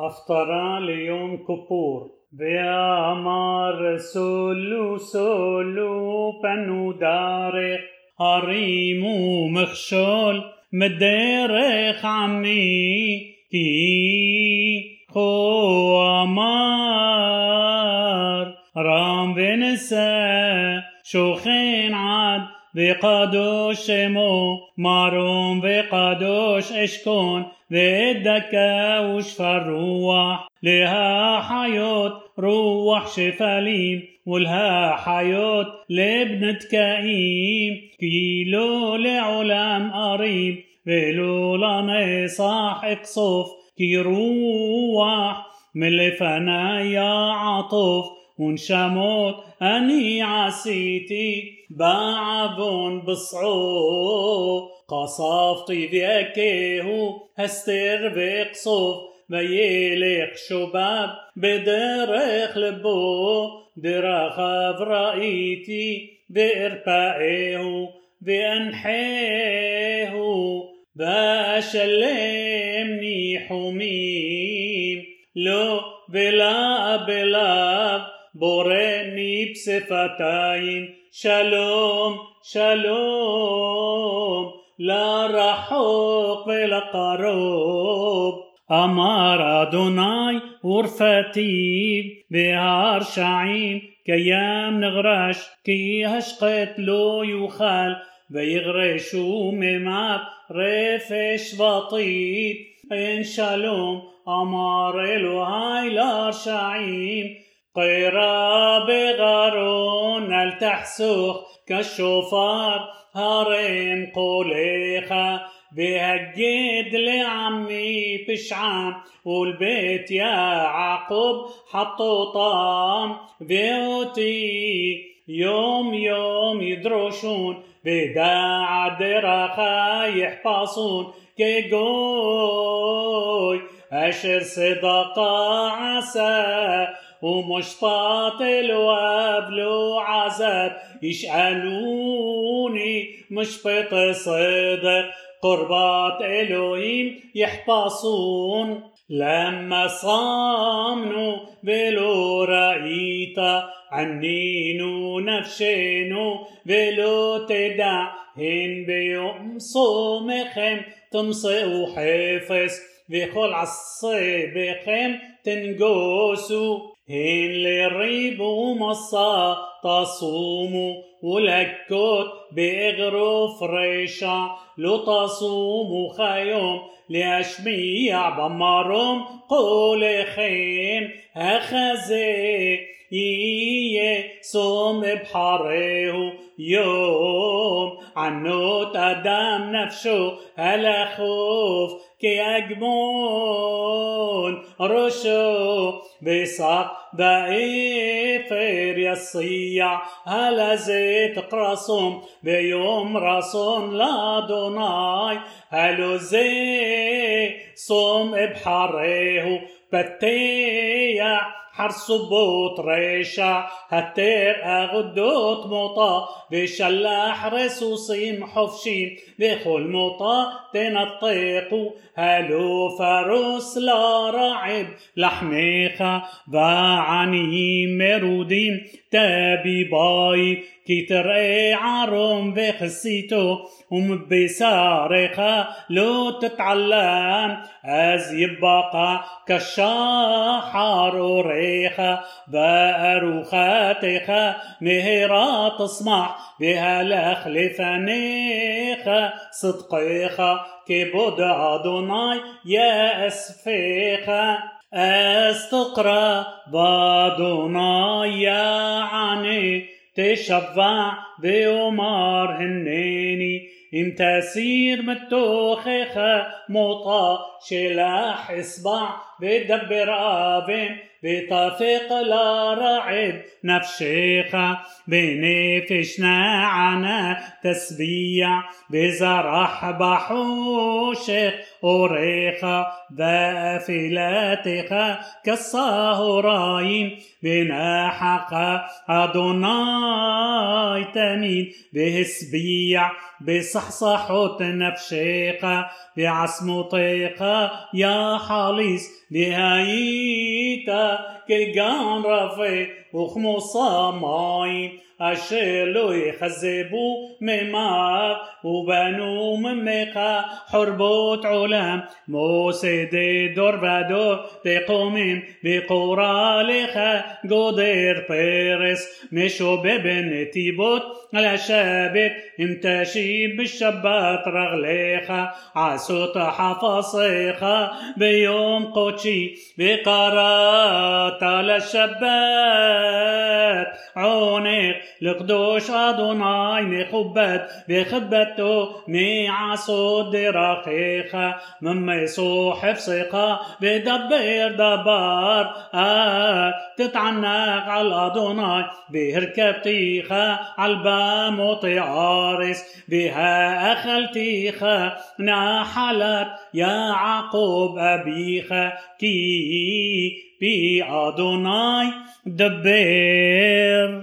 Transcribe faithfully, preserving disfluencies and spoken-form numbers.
הפטרה ליום כיפור. ואמר סולו סולו פנו דרך, הרימו מכשול מדרך עמי, כי כה אמר רם ונשא שוכן עד וקדוש שמו, מרום וקדוש אשכון ודקה ושפר רוח, להחיות רוח שפלים ולהחיות לבנת קאים, כי לא לעולם אריב ולא לנצח אקסוף, כי רוח מלפני עטוף ונשמות אני עשיתי בעוון בصعو, قصفتي ذكيه هستر بقصف ويلق شباب بدرخ لبو درخ رأيتي بإربائه بأنحيه بأشلمني حميم لو بلا بلا بورني بصفتين שלום שלום לרחוק ולקרוב. אמר אדוני ורפתי בהרשעים קיים נגרש, כי השחט לא יוכל ויגרשו ממך רפש וטיט. אין שלום אמר אלוהי לרשעים, قيرا بغارون التحسوخ كالشوفار هرم قوليخا بهجد لعمي بشعام والبيت يعقوب حطوا طعام بيوتي يوم يوم يدرشون بداع درخا يحفظون كجوي أشر صدقا عسى ومشطاط وقبلو عذاب، يسألوني مشبط صدق قربات إلهيم يحفظون. لما صامنوا بلو رأيت عنينو نفشنو بلو تدعهن بيوم صومكم تمصئوا حفظ وكل عصبكم تنقوسوا. هن للريبو مصا تصوموا ولكوت بإغروف ريشا لو تصوموا خيوم لأشميع بمرهم قولخين أخزي إيه صوم بحريه يوم عنوت أدام نفسه هلا خوف كي أجمون رشو بساق بإفر يصيع هلا زيت قرصهم بيوم رصون لا دوناي هلو زي صوم بحريه بتيع حرصبوت ريشا هتر أغدوت موطا بشلاح رسوسيم حفشين بخل موطا تنطيقو هلو فروس لا رعب لحميخا وعني مرودين تابي باي كي ترقي عروم بخسيتو ومبسارخا لو تتعلم از يبقى كالشاحر وريخا بأروخاتخا مهرا تصمح بها لخلفانيخا صدقيخا كبود أدوناي يا أسفيخا استقرا بادوناي يا عني تشفع بأمار هنيني إم تسير متوخخة موطا شلاح إصبع بدبر آبن بطفق لا رعب نفشيخة بنفشنا عنا تسبيع بزرح بحوشخ أوريخة بافلاتخة كالصهراين بناحقة أدوناي تمين بهسبيع بصحصحوت نفشيقة بعصمطيقة يا حاليس והיית כגן רפה וכמוסה מים אשר לא יכזבו ממך ובנו ממך חורבות עולם מוסדי דור ודור תקומים וקורא לך גודר פרס משובב בנתיבות על השבת אם תשיב בשבת רגליך עשות חפשיך ביום קודשי וקראת לשבת עונך לקדוש אדוני מכובד וכבדתו מעשות דרכיך ממסו חפשך ודבר דבר אל תתענג על אדוני והרכבתיך על במות הארץ והאכלתיך נחלת יעקב אביך כי בי אדוני דבר.